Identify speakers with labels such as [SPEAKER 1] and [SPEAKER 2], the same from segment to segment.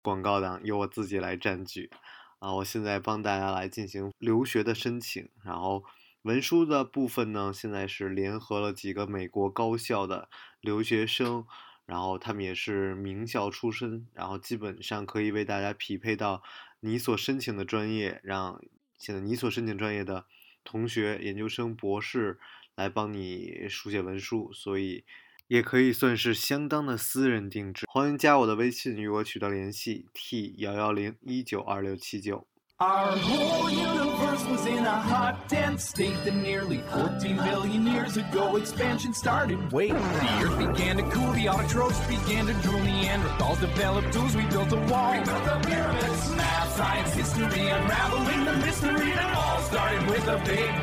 [SPEAKER 1] 广告档由我自己来占据。我现在帮大家来进行留学的申请，然后文书的部分呢，现在是联合了几个美国高校的留学生，然后他们也是名校出身，然后基本上可以为大家匹配到你所申请的专业，让现在你所申请专业的同学、研究生、博士来帮你书写文书，所以也可以算是相当的私人定制。欢迎加我的微信与我取得联系 T110192679。
[SPEAKER 2] Our whole universe was in a hot, dense state that nearly 14 billion years ago expansion started. Wait, the earth began to cool, the autotrophs began to drool, Neanderthals developed tools, we built a wall. We built the pyramids, math, science, history, unraveling the mystery that all started with a big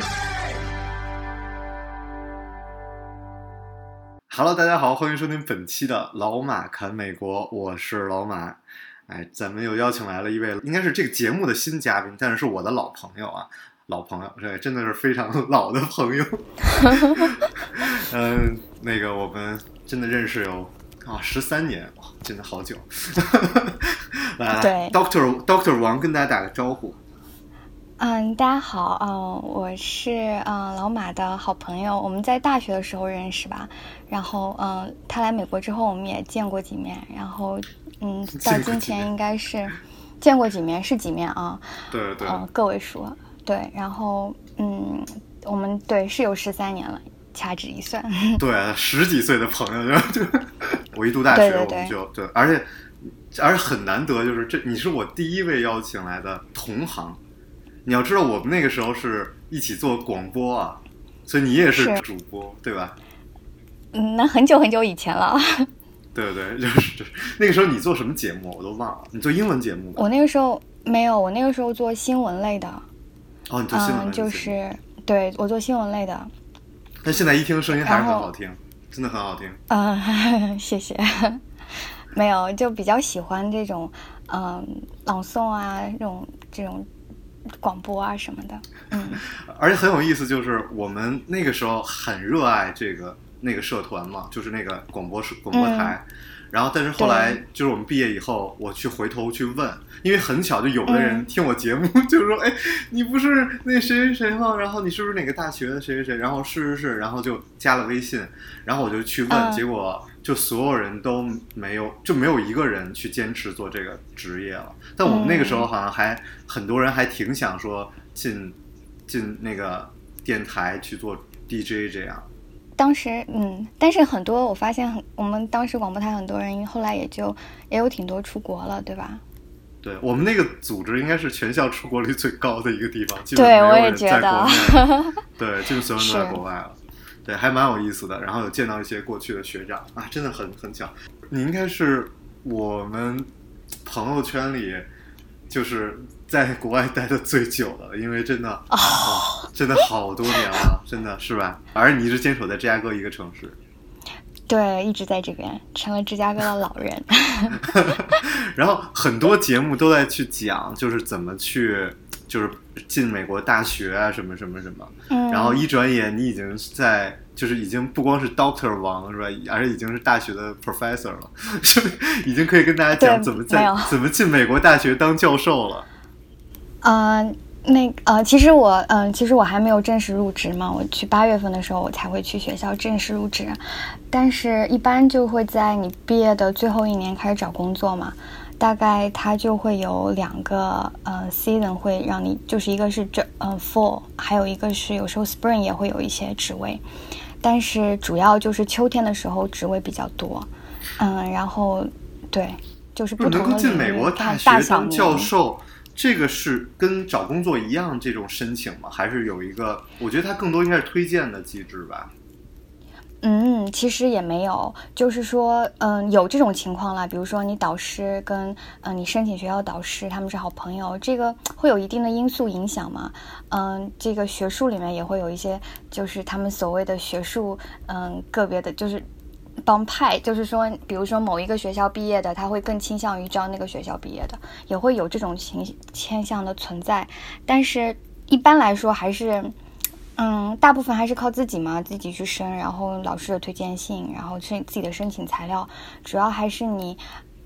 [SPEAKER 2] bang.Hello，
[SPEAKER 1] 大家好，欢迎收听本期的老马侃美国，我是老马。咱们又邀请来了一位，应该是这个节目的新嘉宾，但是是我的老朋友啊，老朋友，这真的是非常老的朋友。那个我们真的认识有13年，哇，真的好久。来 ，Dr. 王跟大家打个招呼。
[SPEAKER 3] 大家好，我是老马的好朋友，我们在大学的时候认识吧，然后他来美国之后我们也见过几面，然后到今天应该是见过几面，是几面啊？
[SPEAKER 1] 对对，
[SPEAKER 3] 个位数，对，然后我们对是有13年了，掐指一算，
[SPEAKER 1] 对，10几岁的朋友就我一读大学我们就对，而且很难得，就是你是我第一位邀请来的同行。你要知道我们那个时候是一起做广播啊，所以你也是主播对吧？
[SPEAKER 3] 那很久很久以前了。
[SPEAKER 1] 对对，就是那个时候你做什么节目我都忘了，你做英文节目吧？
[SPEAKER 3] 我那个时候没有，我那个时候做新闻类的。
[SPEAKER 1] 哦，你做新闻类的
[SPEAKER 3] 就是对，我做新闻类的。
[SPEAKER 1] 但现在一听声音还是很好听，真的很好听。
[SPEAKER 3] 谢谢。没有，就比较喜欢这种朗诵啊，这种广播啊什么的。
[SPEAKER 1] 而且很有意思，就是我们那个时候很热爱那个社团嘛，就是那个广播台。然后但是后来就是我们毕业以后，我回头去问，因为很巧就有的人听我节目就说你不是那谁谁谁吗？然后你是不是哪个大学的谁谁谁？然后是，然后就加了微信，然后我就去问，结果就所有人都没有一个人去坚持做这个职业了。但我们那个时候好像还很多人还挺想说进那个电台去做 DJ 这样。
[SPEAKER 3] 当时但是很多我发现我们当时广播台很多人后来也有挺多出国了，对吧？
[SPEAKER 1] 对，我们那个组织应该是全校出国率最高的一个地方，基
[SPEAKER 3] 本
[SPEAKER 1] 没有人在国内。
[SPEAKER 3] 对，
[SPEAKER 1] 基本所有人都在国外了。对，还蛮有意思的。然后有见到一些过去的学长啊，真的很巧。你应该是我们朋友圈里就是在国外待的最久的，因为真的真的好多年了，真的是吧？而你一直坚守在芝加哥一个城市。
[SPEAKER 3] 对，一直在这边，成了芝加哥的老人。
[SPEAKER 1] 然后很多节目都在去讲，就是怎么去，就是进美国大学啊，什么什么什么。然后一转眼你已经就是已经不光是 Dr. 王是吧，而且已经是大学的 Professor 了，已经可以跟大家讲怎么进美国大学当教授了。
[SPEAKER 3] 其实我还没有正式入职嘛，我去8月份的时候我才会去学校正式入职，但是一般就会在你毕业的最后1年开始找工作嘛，大概它就会有2个season 会让你，就是一个是fall， 还有一个是有时候 spring 也会有一些职位，但是主要就是秋天的时候职位比较多，然后对，就是不同的
[SPEAKER 1] 能够进美国大学当教授。这个是跟找工作一样这种申请吗？还是有一个，我觉得它更多应该是推荐的机制吧。
[SPEAKER 3] 其实也没有，就是说有这种情况啦，比如说你导师跟你申请学校导师他们是好朋友，这个会有一定的因素影响嘛。这个学术里面也会有一些，就是他们所谓的学术个别的就是帮派，就是说比如说某一个学校毕业的他会更倾向于招那个学校毕业的，也会有这种倾向的存在，但是一般来说还是大部分还是靠自己嘛，自己去申，然后老师的推荐信，然后自己的申请材料，主要还是你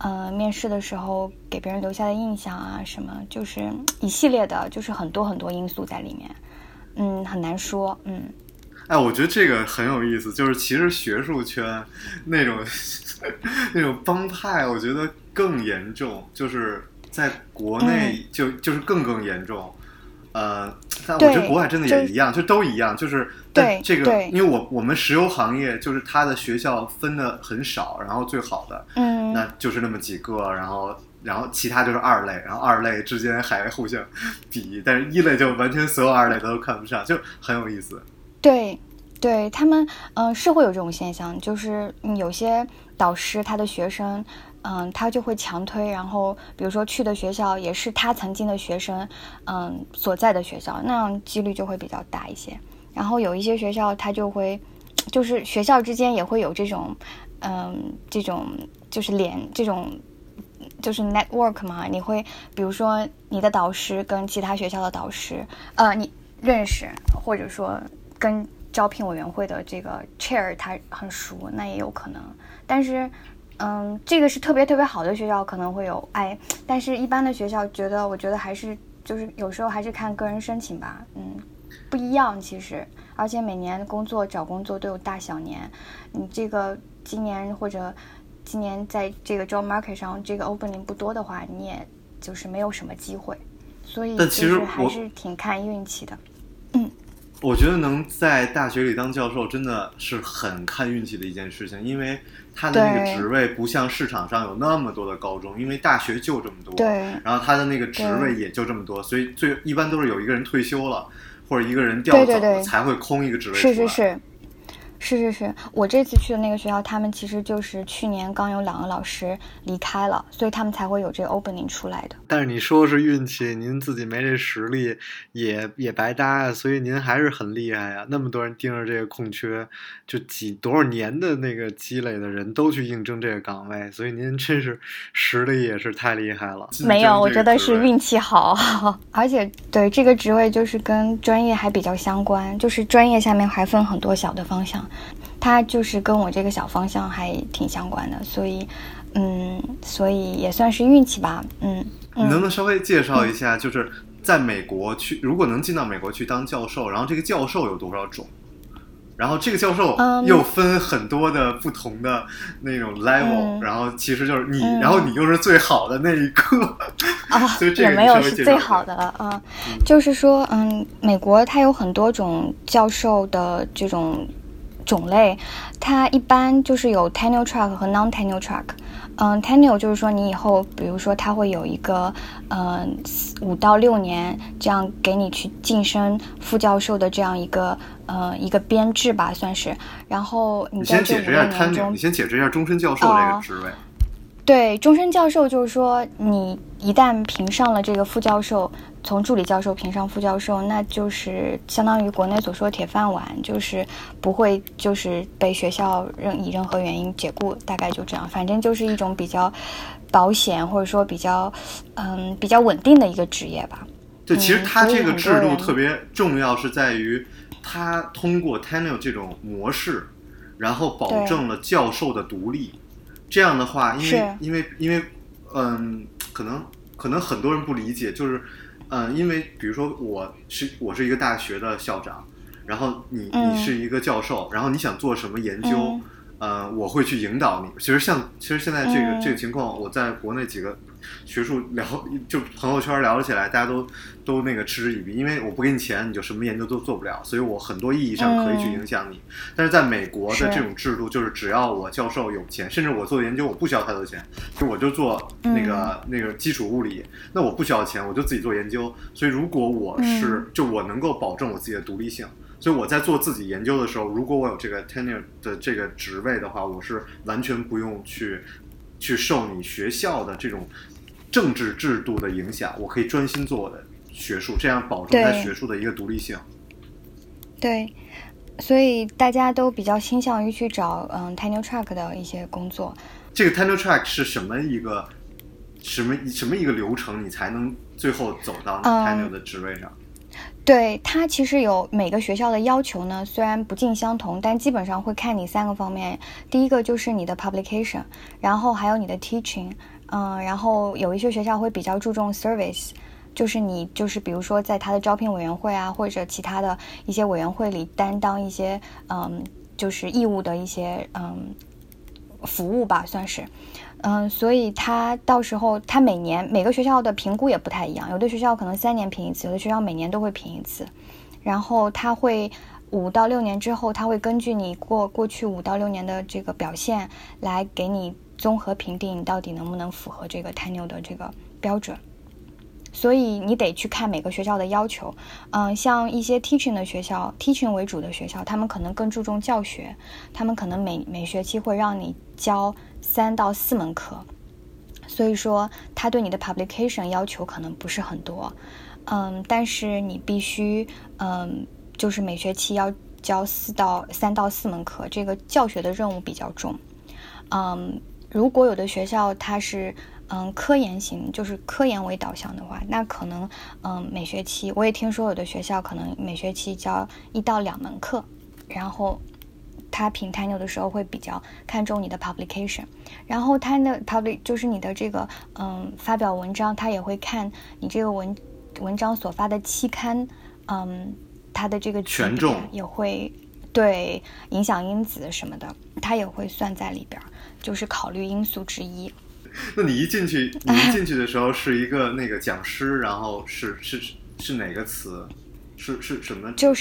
[SPEAKER 3] 面试的时候给别人留下的印象啊，什么就是一系列的，就是很多很多因素在里面，很难说，
[SPEAKER 1] 哎，我觉得这个很有意思，就是其实学术圈那种那种帮派，我觉得更严重，就是在国内就是更严重。但我觉得国外真的也一样，就都一样，就是但这个，因为我们石油行业就是它的学校分的很少，然后最好的，那就是那么几个，然后其他就是二类，然后二类之间还互相比，但是一类就完全所有二类都看不上，就很有意思。
[SPEAKER 3] 对，他们是会有这种现象，就是有些导师他的学生。他就会强推，然后比如说去的学校也是他曾经的学生，所在的学校，那样几率就会比较大一些。然后有一些学校他就会，就是学校之间也会有这种，这种就是这种就是 network 嘛，你会比如说你的导师跟其他学校的导师，你认识，或者说跟招聘委员会的这个 chair 他很熟，那也有可能，但是。这个是特别特别好的学校可能会有但是一般的学校我觉得还是就是有时候还是看个人申请吧，不一样其实，而且每年找工作都有大小年，你这个今年在这个 job market 上这个 opening 不多的话，你也就是没有什么机会，所以就是还是挺看运气的。
[SPEAKER 1] 我觉得能在大学里当教授真的是很看运气的一件事情，因为他的那个职位不像市场上有那么多的高中，因为大学就这么多，然后他的那个职位也就这么多，所以一般都是有一个人退休了或者一个人调走了才会空一个职位出来。
[SPEAKER 3] 是，我这次去的那个学校，他们其实就是去年刚有2个老师离开了，所以他们才会有这个 opening 出来的。
[SPEAKER 4] 但是你说是运气，您自己没这实力也白搭呀，所以您还是很厉害呀。那么多人盯着这个空缺，就多少年的那个积累的人都去应征这个岗位，所以您真是实力也是太厉害了。
[SPEAKER 3] 没有，我觉得是运气好，而且对这个职位就是跟专业还比较相关，就是专业下面还分很多小的方向。它就是跟我这个小方向还挺相关的，所以也算是运气吧。
[SPEAKER 1] 你能不能稍微介绍一下，就是在美国如果能进到美国去当教授，然后这个教授有多少种？然后这个教授又分很多的不同的那种 level，然后其实就是你，然后你又是最好的那一个所以这个
[SPEAKER 3] 也没有是最好的了就是说，美国它有很多种教授的这种种类，它一般就是有 tenure track 和 non-tenure track。tenure 就是说你以后比如说它会有一个5到6年这样给你去晋升副教授的这样一个编制吧，算是。然后你在这5年中，
[SPEAKER 1] 你先解释一下终身教授这个职位。
[SPEAKER 3] 对，终身教授就是说你一旦评上了这个副教授，从助理教授评上副教授，那就是相当于国内所说的铁饭碗，就是不会就是被学校以任何原因解雇，大概就这样。反正就是一种比较保险或者说比较稳定的一个职业吧。
[SPEAKER 1] 对，其实它这个制度特别重要，是在于它通过 tenure 这种模式，然后保证了教授的独立。这样的话，因为可能很多人不理解，就是因为比如说我是一个大学的校长，然后你是一个教授，然后你想做什么研究，我会去引导你。其实现在这个情况，我在国内几个学术就朋友圈聊起来，大家都那个嗤之以鼻，因为我不给你钱，你就什么研究都做不了，所以我很多意义上可以去影响你。但是在美国的这种制度，就是只要我教授有钱，甚至我做研究我不需要太多钱，就我就做那个基础物理，那我不需要钱，我就自己做研究。所以如果我我能够保证我自己的独立性。所以我在做自己研究的时候，如果我有这个 tenure 的这个职位的话，我是完全不用去受你学校的这种政治制度的影响，我可以专心做我的学术，这样保证在学术的一个独立性。
[SPEAKER 3] 对，所以大家都比较倾向于去找tenure track 的一些工作。
[SPEAKER 1] 这个 tenure track 是什么一个流程，你才能最后走到 tenure 的职位上？
[SPEAKER 3] 对，它其实有每个学校的要求呢，虽然不尽相同，但基本上会看你3个方面。第一个就是你的 publication， 然后还有你的 teaching， 然后有一些学校会比较注重 service， 就是你就是比如说在他的招聘委员会啊，或者其他的一些委员会里担当一些就是义务的一些服务吧，算是。所以他到时候他每个学校的评估也不太一样，有的学校可能3年评一次，有的学校每年都会评一次。然后他会5到6年之后，他会根据你过去5到6年的这个表现来给你综合评定你到底能不能符合这个 tenure 的这个标准。所以你得去看每个学校的要求。像一些 teaching 的学校 ，teaching 为主的学校，他们可能更注重教学，他们可能每学期会让你教3到4门课，所以说他对你的 publication 要求可能不是很多。但是你必须就是每学期要教3到4门课，这个教学的任务比较重。如果有的学校它是科研型，就是科研为导向的话，那可能每学期我也听说有的学校可能每学期教1到2门课，然后他评 tenure 的时候会比较看重你的 publication， 然后他的 就是你的这个发表文章，他也会看你这个文章所发的期刊，它的这个
[SPEAKER 1] 权重
[SPEAKER 3] 也会对影响因子什么的，它也会算在里边，就是考虑因素之一。
[SPEAKER 1] 那你一进去的时候是一个那个讲师，然后是哪个词？是什么？
[SPEAKER 3] 就是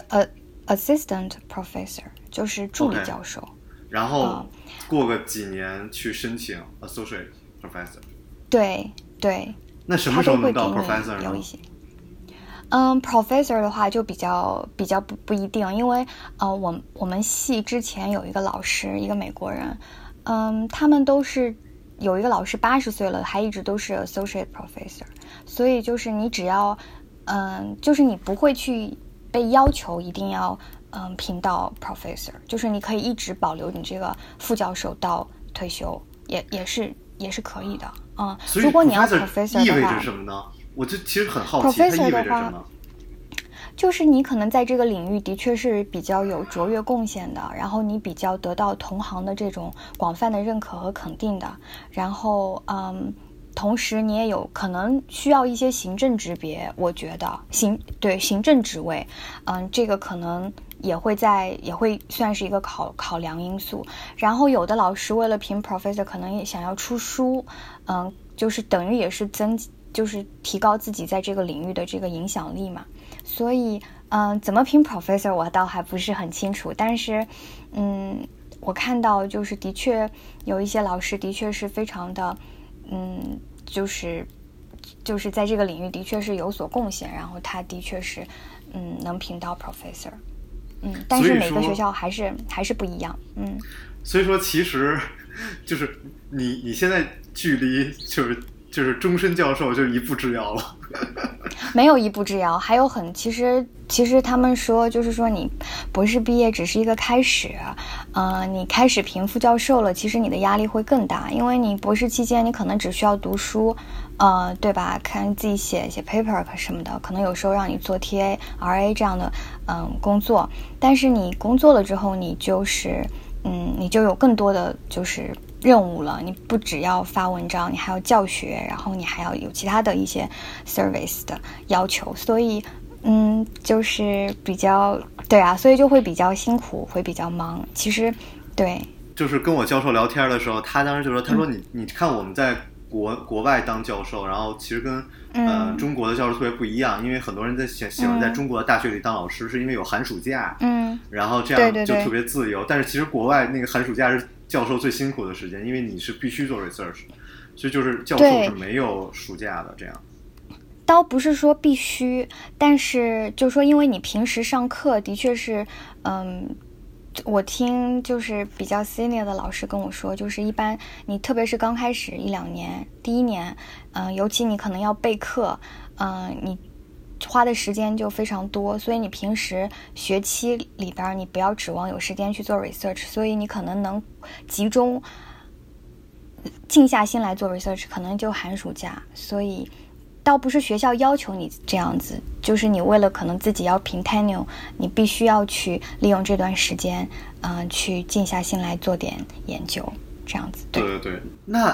[SPEAKER 3] assistant professor， 就是助理教授。
[SPEAKER 1] 然后过个几年去申请 associate professor。
[SPEAKER 3] 对。
[SPEAKER 1] 那什么时候能到 professor 呢？
[SPEAKER 3] 有一些。professor 的话就比较不一定，因为我们系之前有一个老师，一个美国人，他们都是有一个老师80岁了，还一直都是 associate professor， 所以就是你只要就是你不会去被要求一定要评到 professor， 就是你可以一直保留你这个副教授到退休，也是可以的。
[SPEAKER 1] 所以
[SPEAKER 3] 如果你要 professor 的话，
[SPEAKER 1] 意味着什么呢？我就其实很好奇，它意味着什么？
[SPEAKER 3] 就是你可能在这个领域的确是比较有卓越贡献的，然后你比较得到同行的这种广泛的认可和肯定的，然后同时你也有可能需要一些行政职别，我觉得行政职位，这个可能也会算是一个考量因素。然后有的老师为了评 professor 可能也想要出书，就是等于也是就是提高自己在这个领域的这个影响力嘛。所以怎么评 professor 我倒还不是很清楚，但是我看到就是的确有一些老师的确是非常的就是在这个领域的确是有所贡献，然后他的确是能评到 professor。但是每个学校还是不一样。
[SPEAKER 1] 所以说其实就是你现在距离就是终身教授就一步之遥了。
[SPEAKER 3] 没有一步之遥，还有其实他们说就是说你博士毕业只是一个开始，你开始评副教授了，其实你的压力会更大，因为你博士期间你可能只需要读书，对吧？看自己写 paper 什么的，可能有时候让你做 TA、RA 这样的工作，但是你工作了之后，你就是你就有更多的就是任务了，你不只要发文章，你还要教学，然后你还要有其他的一些 service 的要求，所以就是比较对啊，所以就会比较辛苦，会比较忙。其实对，
[SPEAKER 1] 就是跟我教授聊天的时候，他当时就说，他说你看我们在国外当教授，然后其实跟中国的教授特别不一样，因为很多人喜欢在中国的大学里当老师，是因为有寒暑假，然后这样就特别自由。但是其实国外那个寒暑假是教授最辛苦的时间，因为你是必须做 research， 所以就是教授是没有暑假的这样。
[SPEAKER 3] 倒不是说必须，但是就说因为你平时上课的确是我听就是比较 senior 的老师跟我说，就是一般你特别是刚开始1-2年，第一年尤其你可能要备课，你花的时间就非常多，所以你平时学期里边你不要指望有时间去做 research， 所以你可能能集中静下心来做 research， 可能就寒暑假。所以倒不是学校要求你这样子，就是你为了可能自己要评 tenure， 你必须要去利用这段时间去静下心来做点研究，这样子。
[SPEAKER 1] 对。那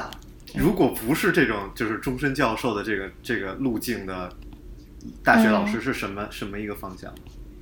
[SPEAKER 1] 如果不是这种就是终身教授的这个路径的大学老师是什么一个方向？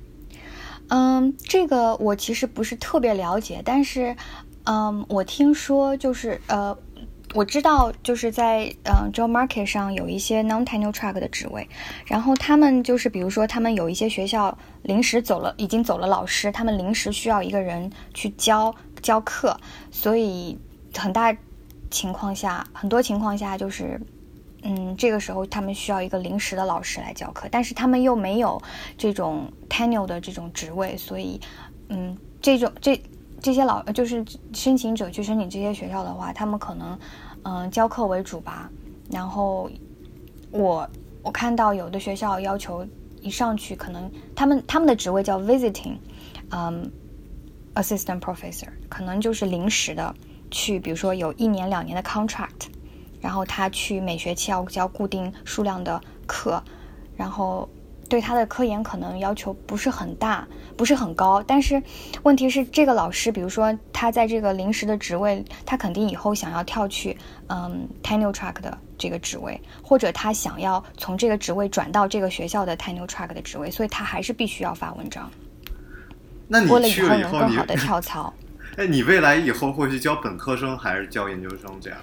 [SPEAKER 3] 这个我其实不是特别了解，但是我听说就是我知道就是在job market 上有一些 non-tenure track 的职位，然后他们就是比如说他们有一些学校临时已经走了老师，他们临时需要一个人去教课，所以很多情况下就是这个时候他们需要一个临时的老师来教课，但是他们又没有这种 tenure 的这种职位，所以这些就是申请者去申请这些学校的话，他们可能教课为主吧。然后我看到有的学校要求一上去，可能他们的职位叫 visiting assistant professor， 可能就是临时的去，比如说有1年2年的 contract， 然后他去每学期要教固定数量的课，然后对他的科研可能要求不是很大，不是很高，但是问题是这个老师，比如说他在这个临时的职位，他肯定以后想要跳去tenure track 的这个职位，或者他想要从这个职位转到这个学校的 tenure track 的职位，所以他还是必须要发文章。
[SPEAKER 1] 那你
[SPEAKER 3] 为了
[SPEAKER 1] 去了以后
[SPEAKER 3] 能更好的跳槽。
[SPEAKER 1] 你未来以后会去教本科生还是教研究生这样？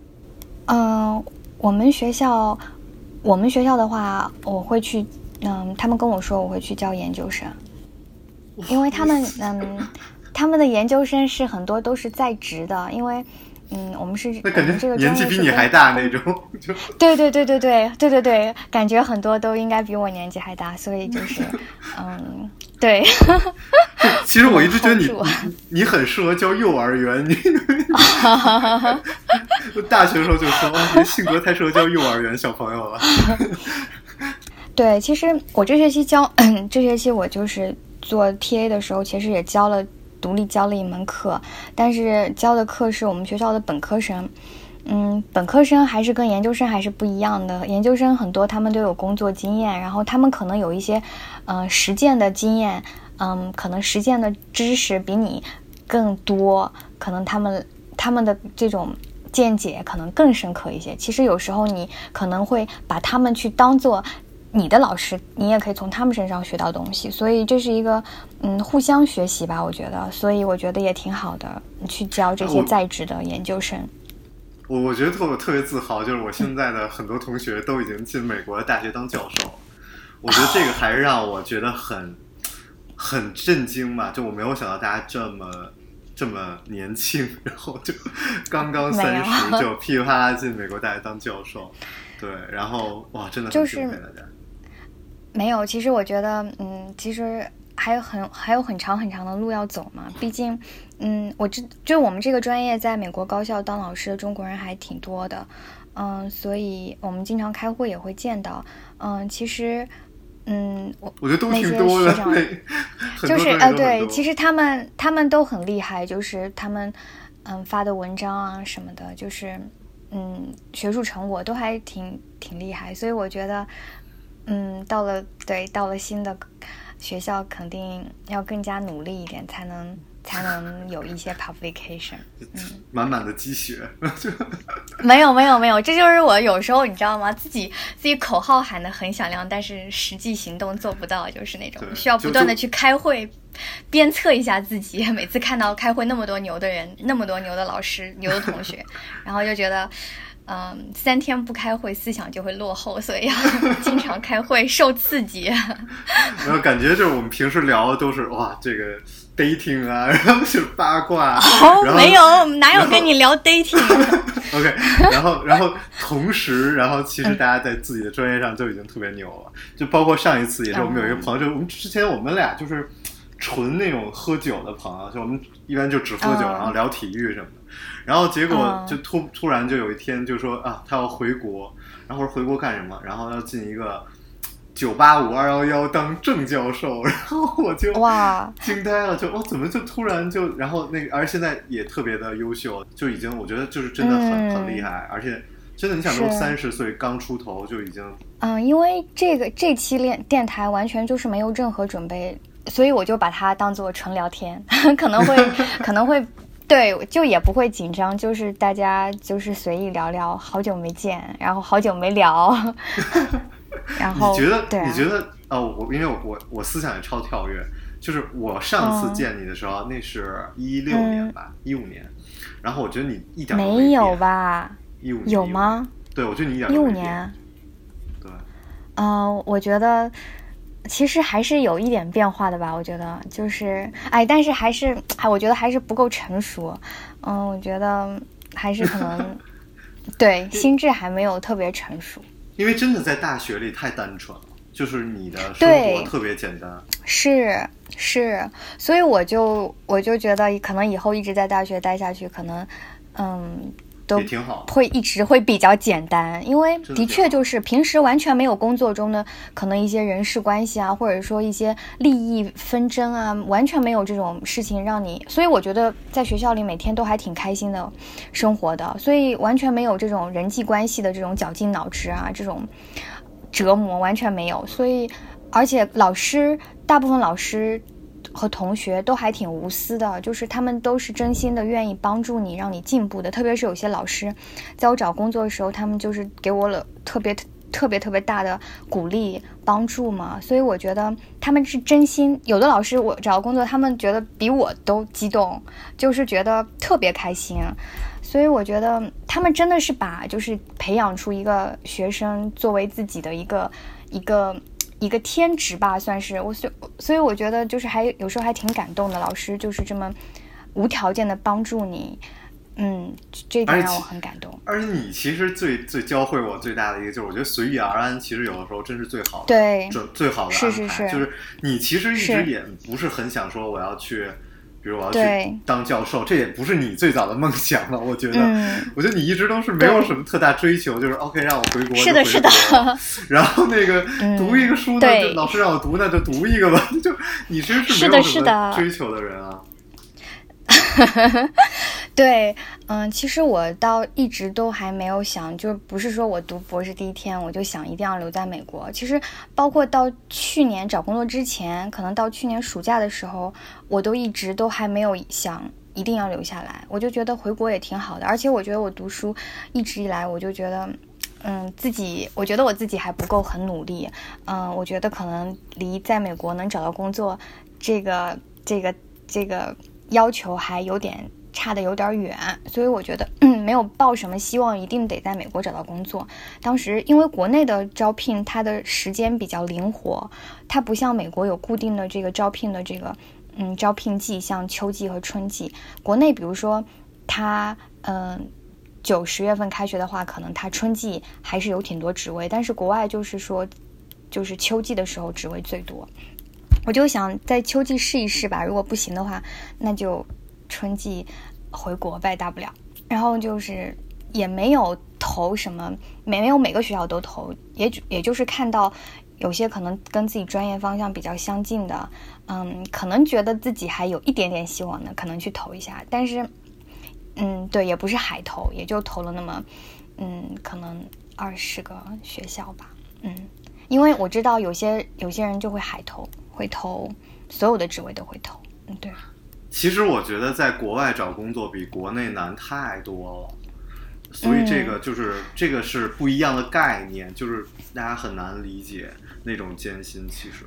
[SPEAKER 3] 我们学校的话，我会去他们跟我说我会去教研究生，因为他们的研究生是很多都是在职的，因为我们是
[SPEAKER 1] 那感觉
[SPEAKER 3] 这个
[SPEAKER 1] 年纪比你还大那种，就
[SPEAKER 3] 对，感觉很多都应该比我年纪还大，所以就是对。
[SPEAKER 1] 其实我一直觉得你很适合教幼儿园，你大学的时候就说你的性格太适合教幼儿园小朋友了。
[SPEAKER 3] 对，其实我这学期我就是做 TA 的时候，其实也独立教了一门课，但是教的课是我们学校的本科生。本科生还是跟研究生还是不一样的，研究生很多他们都有工作经验，然后他们可能有一些实践的经验，可能实践的知识比你更多，可能他们的这种见解可能更深刻一些。其实有时候你可能会把他们去当做你的老师，你也可以从他们身上学到东西，所以这是一个互相学习吧，我觉得，所以我觉得也挺好的，去教这些在职的研究生。
[SPEAKER 1] 我觉得特别自豪，就是我现在的很多同学都已经进美国的大学当教授，我觉得这个还是让我觉得很震惊吧，就我没有想到大家这么年轻，然后就刚刚30就噼里啪啦进美国大学当教授，对，然后哇，真的很敬佩大家。
[SPEAKER 3] 没有，其实我觉得，其实还有很长很长的路要走嘛。毕竟，就我们这个专业在美国高校当老师的中国人还挺多的，所以我们经常开会也会见到，其实。
[SPEAKER 1] 我觉得都挺多的，
[SPEAKER 3] 就是对，其实他们都很厉害，就是他们发的文章啊什么的，就是学术成果都还挺厉害，所以我觉得到了新的学校肯定要更加努力一点，才能有一些 publication，
[SPEAKER 1] 满满的鸡血。
[SPEAKER 3] 没有，这就是我有时候你知道吗？自己口号喊得很响亮，但是实际行动做不到，就是那种需要不断的去开会，鞭策一下自己。每次看到开会那么多牛的人，那么多牛的老师、牛的同学，然后就觉得。3天不开会，思想就会落后，所以要经常开会，受刺激。
[SPEAKER 1] 然后感觉就是我们平时聊的都是哇，这个 dating 啊，然后是八卦。
[SPEAKER 3] 没有，哪有跟你聊 dating？OK，
[SPEAKER 1] 然后同时，然后其实大家在自己的专业上就已经特别牛了，就包括上一次也是我们有一个朋友，就我们之前我们俩就是纯那种喝酒的朋友，就我们一般就只喝酒，然后聊体育什么的。然后结果就突然就有一天就说他要回国，然后我说回国干什么？然后要进一个985-211当正教授，然后我就惊呆了，就怎么就突然就，然后那个而且现在也特别的优秀，就已经我觉得就是真的很厉害，而且真的你想都30岁刚出头就已经
[SPEAKER 3] 因为这期电台完全就是没有任何准备，所以我就把它当做纯聊天，可能会对，就也不会紧张，就是大家就是随意聊聊，好久没见，然后好久没聊，然后
[SPEAKER 1] 你觉得因为我思想也超跳跃，就是我上次见你的时候，那是16年吧，15年，然后我觉得你一点都
[SPEAKER 3] 没有吧
[SPEAKER 1] ？15年
[SPEAKER 3] 有吗？
[SPEAKER 1] 对，我觉得你一点都没变。
[SPEAKER 3] 15年。
[SPEAKER 1] 对。
[SPEAKER 3] 我觉得其实还是有一点变化的吧。我觉得就是，但是我觉得还是不够成熟。我觉得还是可能对心智还没有特别成熟。
[SPEAKER 1] 因为真的在大学里太单纯了，就是你的生活特别简单。
[SPEAKER 3] 是，所以我就觉得可能以后一直在大学待下去，可能都
[SPEAKER 1] 也挺好，
[SPEAKER 3] 会一直会比较简单，因为的确就是平时完全没有工作中的可能一些人事关系啊，或者说一些利益纷争啊，完全没有这种事情让你，所以我觉得在学校里每天都还挺开心的生活的，所以完全没有这种人际关系的这种绞尽脑汁啊，这种折磨完全没有，所以而且大部分老师和同学都还挺无私的，就是他们都是真心的愿意帮助你，让你进步的。特别是有些老师在我找工作的时候，他们就是给我了特别大的鼓励帮助嘛，所以我觉得他们是真心。有的老师我找工作，他们觉得比我都激动，就是觉得特别开心，所以我觉得他们真的是把就是培养出一个学生作为自己的一个天职吧，算是所以我觉得就是有时候还挺感动的，老师就是这么无条件的帮助你，这一点让我很感动。
[SPEAKER 1] 而且你其实最教会我最大的一个就是，我觉得随遇而安，其实有的时候真是最好的，
[SPEAKER 3] 对，
[SPEAKER 1] 最好的安排。
[SPEAKER 3] 是
[SPEAKER 1] 就是你其实一直也不是很想说我要去。比如我要去当教授，这也不是你最早的梦想了。我觉得你一直都是没有什么特大追求，就是 OK 让我回国
[SPEAKER 3] 是的，
[SPEAKER 1] 然后那个读一个书呢，就老师让我读那就读一个吧。就你其实是没有什么追求的人啊。
[SPEAKER 3] 对，其实我倒一直都还没有想，就不是说我读博士第一天我就想一定要留在美国。其实包括到去年找工作之前，可能到去年暑假的时候，我都一直都还没有想一定要留下来。我就觉得回国也挺好的，而且我觉得我读书一直以来，我就觉得，我觉得我自己还不够很努力。我觉得可能离在美国能找到工作，这个要求还差的有点远，所以我觉得没有抱什么希望一定得在美国找到工作。当时因为国内的招聘它的时间比较灵活，它不像美国有固定的这个招聘的这个招聘季，像秋季和春季。国内比如说它9、10月份开学的话，可能它春季还是有挺多职位，但是国外就是说就是秋季的时候职位最多。我就想在秋季试一试吧，如果不行的话，那就春季回国呗，大不了。然后就是也没有投什么，没有每个学校都投，也就是看到有些可能跟自己专业方向比较相近的，可能觉得自己还有一点点希望的，可能去投一下。但是，对，也不是海投，也就投了那么，可能20个学校吧，因为我知道有些人就会海投。会投所有的职位都会投，对。
[SPEAKER 1] 其实我觉得在国外找工作比国内难太多了，所以这个是不一样的概念，就是大家很难理解那种艰辛。其实，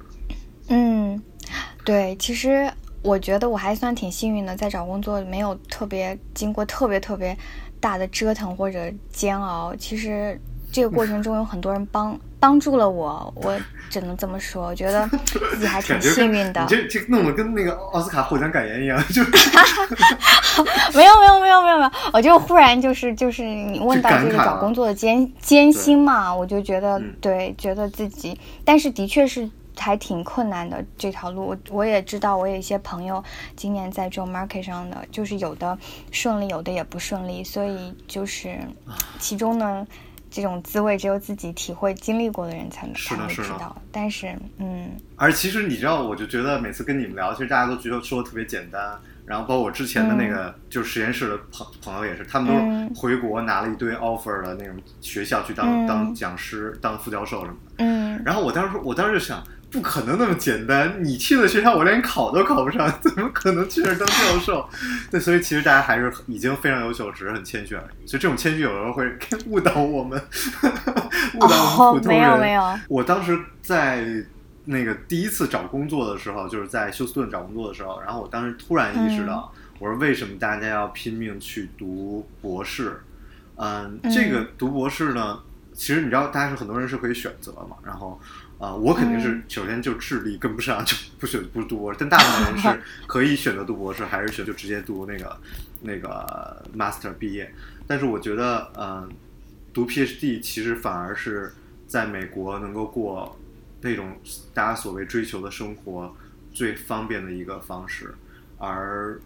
[SPEAKER 3] 对，其实我觉得我还算挺幸运的，在找工作没有经过特别大的折腾或者煎熬。其实这个过程中有很多人帮助了我只能这么说，我觉得自己还挺幸运的。
[SPEAKER 1] 你这弄得跟那个奥斯卡获奖感言一样，就
[SPEAKER 3] 没有，我就忽然就是你问到这个找工作的艰辛嘛，我就觉得对，觉得自己，但是的确是还挺困难的这条路。我也知道，我有一些朋友今年在这种 market 上的，就是有的顺利，有的也不顺利，所以就是其中呢。这种滋味只有自己体会经历过的人才会知道，但是
[SPEAKER 1] 而其实你知道，我就觉得每次跟你们聊，其实大家都觉得说的特别简单，然后包括我之前的那个就是实验室的朋友也是，他们都是回国拿了一堆 offer 的那种学校去当讲师、当副教授什么的。然后我当时就想， 不可能那么简单，你去的学校我连考都考不上，怎么可能去那儿当教授？对，所以其实大家还是已经非常优秀，只是很谦虚而已。所以这种谦虚有时候会误导我们，误导我们普通人。
[SPEAKER 3] 没有。
[SPEAKER 1] 我当时在那个第一次找工作的时候，就是在休斯顿找工作的时候，然后我当时突然意识到，我说为什么大家要拼命去读博士？这个读博士呢，其实你知道，大家是很多人是可以选择嘛，然后。我肯定是首先就智力跟不上，就不读博士。但大部分人是可以选择读博士，还是就直接读那个 master 毕业。但是我觉得，读 PhD 其实反而是在美国能够过那种大家所谓追求的生活最方便的一个方式，而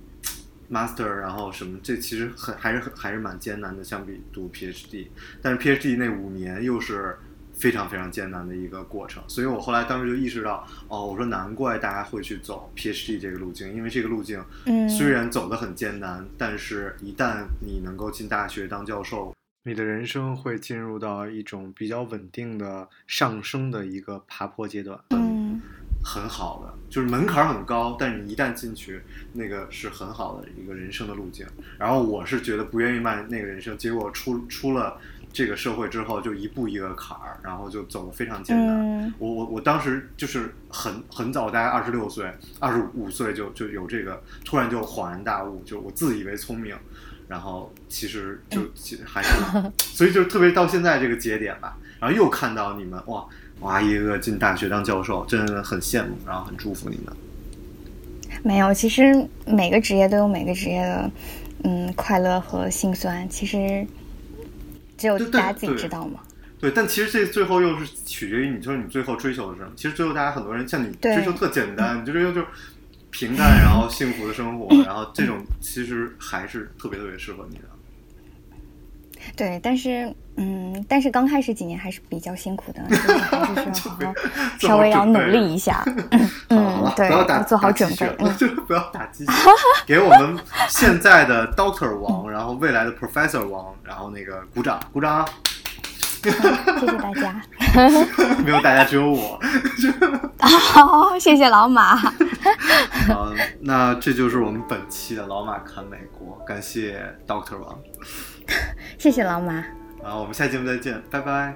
[SPEAKER 1] master 然后什么，这其实还是蛮艰难的，相比读 PhD。但是 PhD 那5年又是非常非常艰难的一个过程，所以我后来当时就意识到，我说难怪大家会去走 PhD 这个路径，因为这个路径虽然走得很艰难，但是一旦你能够进大学当教授，
[SPEAKER 4] 你的人生会进入到一种比较稳定的上升的一个爬坡阶段。
[SPEAKER 1] 很好的，就是门槛很高，但是你一旦进去，那个是很好的一个人生的路径。然后我是觉得不愿意迈那个人生，结果出了这个社会之后，就一步一个坎儿，然后就走得非常艰难。我当时就是很早，大概26岁、25岁就有这个，突然就恍然大悟，就我自以为聪明，然后其实还是，所以就特别到现在这个节点吧，然后又看到你们哇一个进大学当教授，真的很羡慕，然后很祝福你们。
[SPEAKER 3] 没有，其实每个职业都有每个职业的快乐和辛酸，其实只有大家自己知道嘛。
[SPEAKER 1] 对，但其实这最后又是取决于你，就是你最后追求的是什么。其实最后大家很多人像你追求特简单，你就追求就平淡然后幸福的生活，然后这种其实还是特别特别适合你的。
[SPEAKER 3] 对，但是刚开始几年还是比较辛苦的，就是还是需要好好稍微要努力一下。对，
[SPEAKER 1] 不要
[SPEAKER 3] 做好准备，
[SPEAKER 1] 就不要打鸡血。给我们现在的 Doctor 王，然后未来的 Professor 王，然后那个鼓掌。
[SPEAKER 3] 谢谢大家。
[SPEAKER 1] 没有大家，只有我。
[SPEAKER 3] 好，谢谢老马。
[SPEAKER 1] 好，那这就是我们本期的老马看美国，感谢 Doctor 王。
[SPEAKER 3] 谢谢老马。
[SPEAKER 1] 然后我们下期节目再见，拜拜。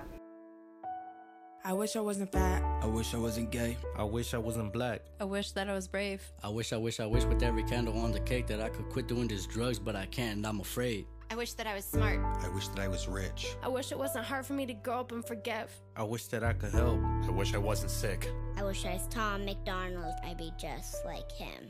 [SPEAKER 5] I wish I wasn't fat. I wish I wasn't gay.
[SPEAKER 6] I wish I wasn't black.
[SPEAKER 7] I wish that I was brave.
[SPEAKER 6] I wish with every candle on the cake that I could quit doing these drugs, but I can't and I'm afraid.
[SPEAKER 7] I wish that I was smart.
[SPEAKER 5] I wish that I was rich.
[SPEAKER 7] I wish it wasn't hard for me to grow up and forgive.
[SPEAKER 6] I wish that I could help.
[SPEAKER 8] I wish I wasn't sick.
[SPEAKER 9] I wish I was Tom McDonald. I'd be just like him.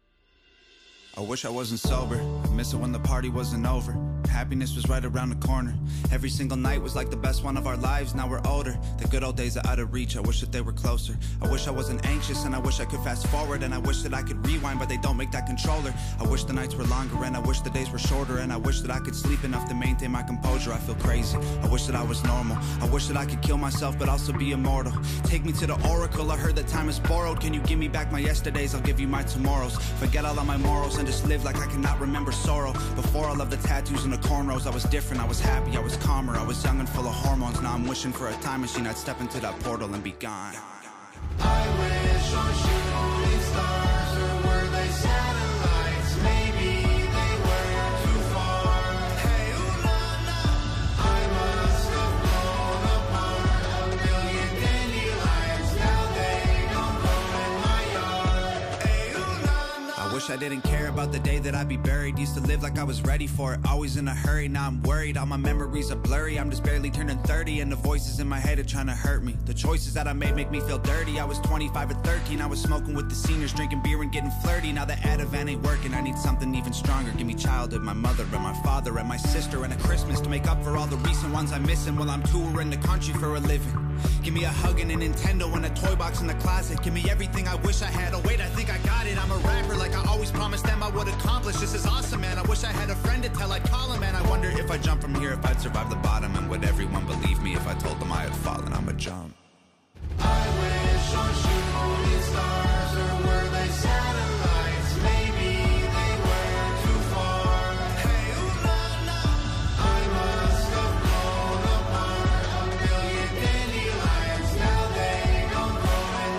[SPEAKER 5] I wish I wasn't sober. I miss it when the party wasn't over. Happiness was right around the corner. Every single night was like the best one of our lives. Now we're older. The good old days are out of reach. I wish that they were closer. I wish I wasn't anxious and I wish I could fast forward. And I wish that I could rewind, but they don't make that controller. I wish the nights were longer and I wish the days were shorter. And I wish that I could sleep enough to maintain my composure. I feel crazy. I wish that I was normal. I wish that I could kill myself but also be immortal. Take me to the oracle. I heard that time is borrowed. Can you give me back my yesterdays? I'll give you my tomorrows. Forget all of my morals and just live like I cannot remember sorrow. Before all of the tattoos and the cornrows, I was different, I was happy, I was calmer, I was young and full of hormones. Now I'm wishing for a time machine, I'd step into that portal and be gone.
[SPEAKER 2] I wish on shooting stars, or were they satellites? Maybe they were too far. Hey, ooh la la, I must have blown apart a million dandelions. Now they don't grow in my yard. Hey, ooh la la.
[SPEAKER 5] I wish I didn't care about the day that I'd be buried. Used to live like I was ready for it, always in a hurry. Now I'm worried, all my memories are blurry. I'm just barely turning 30 and the voices in my head are trying to hurt me. The choices that I made make me feel dirty. I was 25 or 13, I was smoking with the seniors, drinking beer and getting flirty. Now the Ativan ain't working, I need something even stronger. Give me childhood, my mother and my father and my sister, and a Christmas to make up for all the recent ones I'm missing while I'm touring the country for a living. Give me a hug and a Nintendo and a toy box in the closet. Give me everything I wish I had. Oh wait, I think I got it. I'm a rapper like I always promised them I would accomplish. This is awesome, man. I wish I had a friend to tell. I'd call him, and I wonder if I jump from here, if I'd survive the bottom, and would everyone believe me if I told them I had fallen? I'ma jump.
[SPEAKER 2] I wish on shooting stars, or were they satellites? Maybe they were too far. Hey, ooh la la, I must have blown apart a million dandelions. Now they don't grow in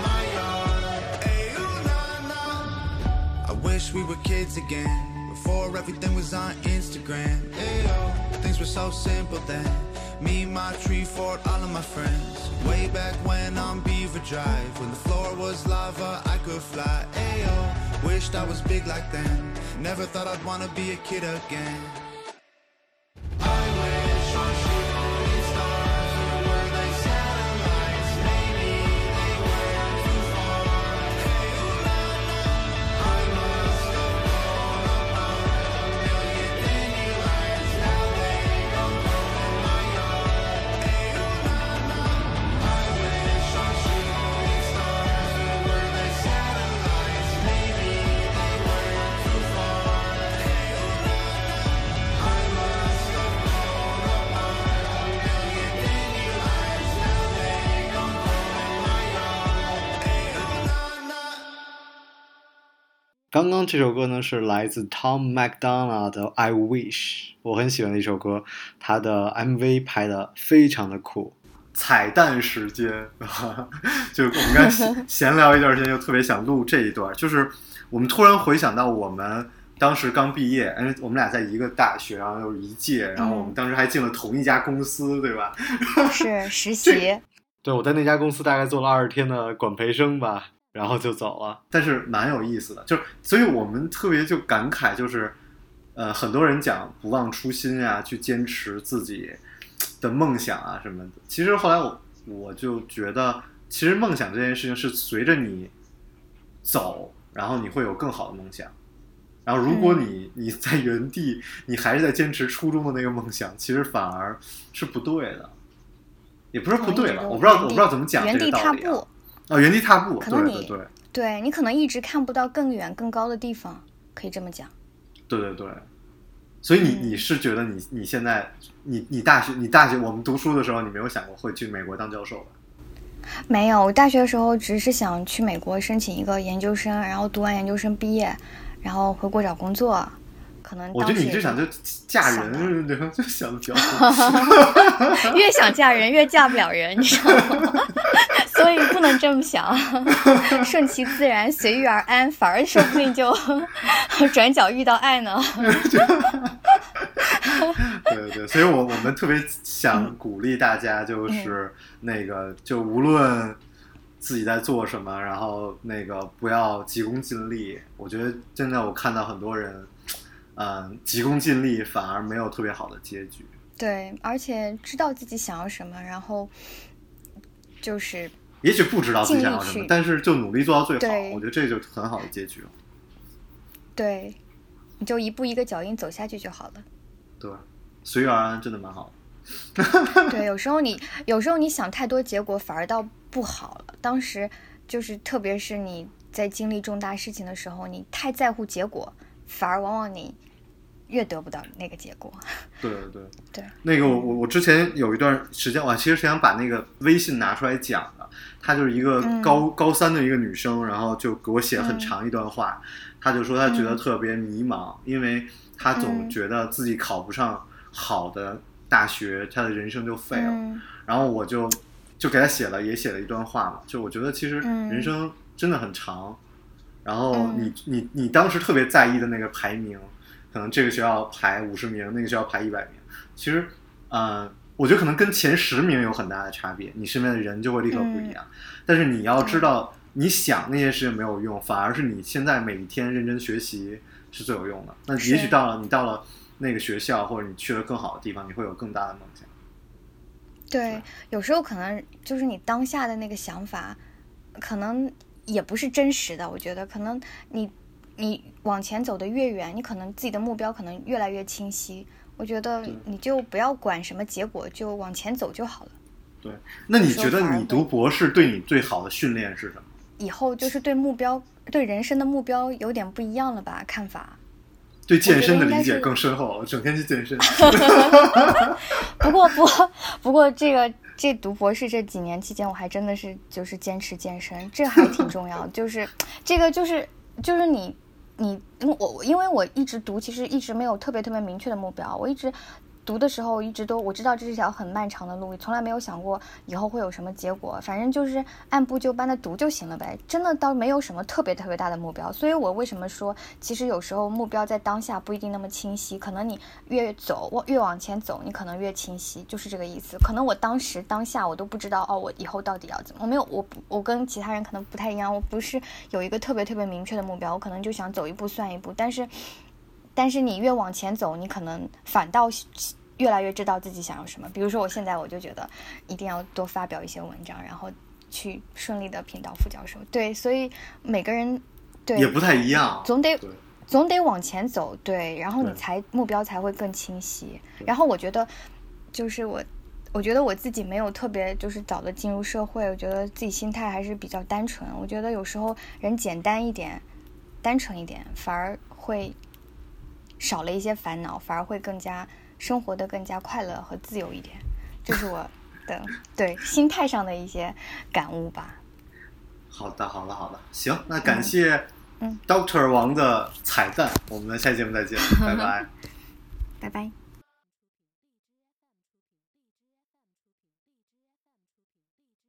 [SPEAKER 5] were kids again. Before everything was on Instagram. Ayo, things were so simple then. Me, my tree fort, all of my friends. Way back when on Beaver Drive, when the floor was lava, I could fly. Ayo, wished I was big like then. Never thought I'd wanna be a kid again. I wish on shooting stars, or were they satellites? Maybe they were too far. Hey, ooh, la, la. I must have blown apart a million dandelions. Now they don't grow in my yard. Hey, ooh, la, la. I wish on shooting stars, or were they satellites? Maybe they were too far. Hey, ooh, la, la. I must have blown apart a million dandelions. Now they don't grow in my yard. Hey, ooh, la, la.
[SPEAKER 4] 刚刚这首歌呢是来自 Tom MacDonald 的 I Wish， 我很喜欢的一首歌，他的 MV 拍的非常的酷。
[SPEAKER 1] 彩蛋时间，就我们刚才闲聊一段时间，就特别想录这一段。就是我们突然回想到我们当时刚毕业，因为我们俩在一个大学，然后又是一届，然后我们当时还进了同一家公司，对吧？
[SPEAKER 3] 是实习。
[SPEAKER 4] 对，我在那家公司大概做了20天的管培生吧，然后就走了。
[SPEAKER 1] 但是蛮有意思的，就是所以我们特别就感慨，就是很多人讲不忘初心啊，去坚持自己的梦想啊什么的。其实后来我就觉得，其实梦想这件事情是随着你走，然后你会有更好的梦想。然后如果你在原地，你还是在坚持初中的那个梦想，其实反而是不对的。也不是不对吧，我不知道怎么讲这个道理啊。原地踏步，
[SPEAKER 3] 对，你可能一直看不到更远更高的地方，可以这么讲。
[SPEAKER 1] 对，所以你是觉得你现在你大学我们读书的时候，你没有想过会去美国当教授吧？
[SPEAKER 3] 没有，我大学的时候只是想去美国申请一个研究生，然后读完研究生毕业，然后回国找工作。可能
[SPEAKER 1] 我觉得你就想就嫁人，就想的比较多。
[SPEAKER 3] 越想嫁人越嫁不了人，你知道吗？所以不能这么想，顺其自然，随遇而安，反而说不定就转角遇到爱呢。
[SPEAKER 1] 对，所以我们特别想鼓励大家，就是那个就无论自己在做什么，然后那个不要急功近利。我觉得真的我看到很多人急功近利反而没有特别好的结局。
[SPEAKER 3] 对，而且知道自己想要什么，然后就是
[SPEAKER 1] 也许不知道自己想要什么，但是就努力做到最好，我觉得这就很好的结局了。
[SPEAKER 3] 对，你就一步一个脚印走下去就好了。
[SPEAKER 1] 对，随遇而安真的蛮好
[SPEAKER 3] 的。对，有时候你想太多，结果反而倒不好了。当时就是特别是你在经历重大事情的时候，你太在乎结果，反而往往你越得不到那个结果。
[SPEAKER 1] 对，那个我之前有一段时间，我其实是想把那个微信拿出来讲的。她就是一个高三的一个女生，然后就给我写了很长一段话。她就说她觉得特别迷茫，因为她总觉得自己考不上好的大学，她的人生就废了。然后我就给她写了一段话嘛，就我觉得其实人生真的很长。然后你当时特别在意的那个排名，可能这个学校排50名，那个学校排100名。其实，我觉得可能跟前10名有很大的差别，你身边的人就会立刻不一样。但是你要知道，你想那些事情没有用，反而是你现在每一天认真学习是最有用的。那也许你到了那个学校，或者你去了更好的地方，你会有更大的梦想。
[SPEAKER 3] 对，有时候可能就是你当下的那个想法，可能也不是真实的。我觉得可能你往前走得越远，你可能自己的目标可能越来越清晰。我觉得你就不要管什么结果，就往前走就好了。
[SPEAKER 1] 对，那你觉得你读博士对你最好的训练是什么？
[SPEAKER 3] 以后就是对人生的目标有点不一样了吧？看法。
[SPEAKER 1] 对健身的理解更深厚了，整天去健身。
[SPEAKER 3] 不过这读博士这几年期间，我还真的是就是坚持健身，这还挺重要的。就是这个就是因为我一直读，其实一直没有特别明确的目标，我一直读的时候一直都我知道这是条很漫长的路，从来没有想过以后会有什么结果，反正就是按部就班的读就行了呗，真的倒没有什么特别特别大的目标。所以我为什么说其实有时候目标在当下不一定那么清晰，可能你越往前走你可能越清晰，就是这个意思。可能我当下我都不知道我以后到底要怎么，我跟其他人可能不太一样，我不是有一个特别特别明确的目标，我可能就想走一步算一步，但是你越往前走，你可能反倒越来越知道自己想要什么。比如说我现在我就觉得一定要多发表一些文章，然后去顺利的评到副教授。对，所以每个人对
[SPEAKER 1] 也不太一样，
[SPEAKER 3] 总得往前走，对，然后你目标才会更清晰。然后我觉得就是我觉得我自己没有特别就是早的进入社会，我觉得自己心态还是比较单纯。我觉得有时候人简单一点单纯一点反而会少了一些烦恼，反而会生活的更加快乐和自由一点，这是我的对心态上的一些感悟吧。
[SPEAKER 1] 好的，行，那感谢Dr. 王的彩蛋，我们下期节目再见，拜拜，
[SPEAKER 3] 拜拜。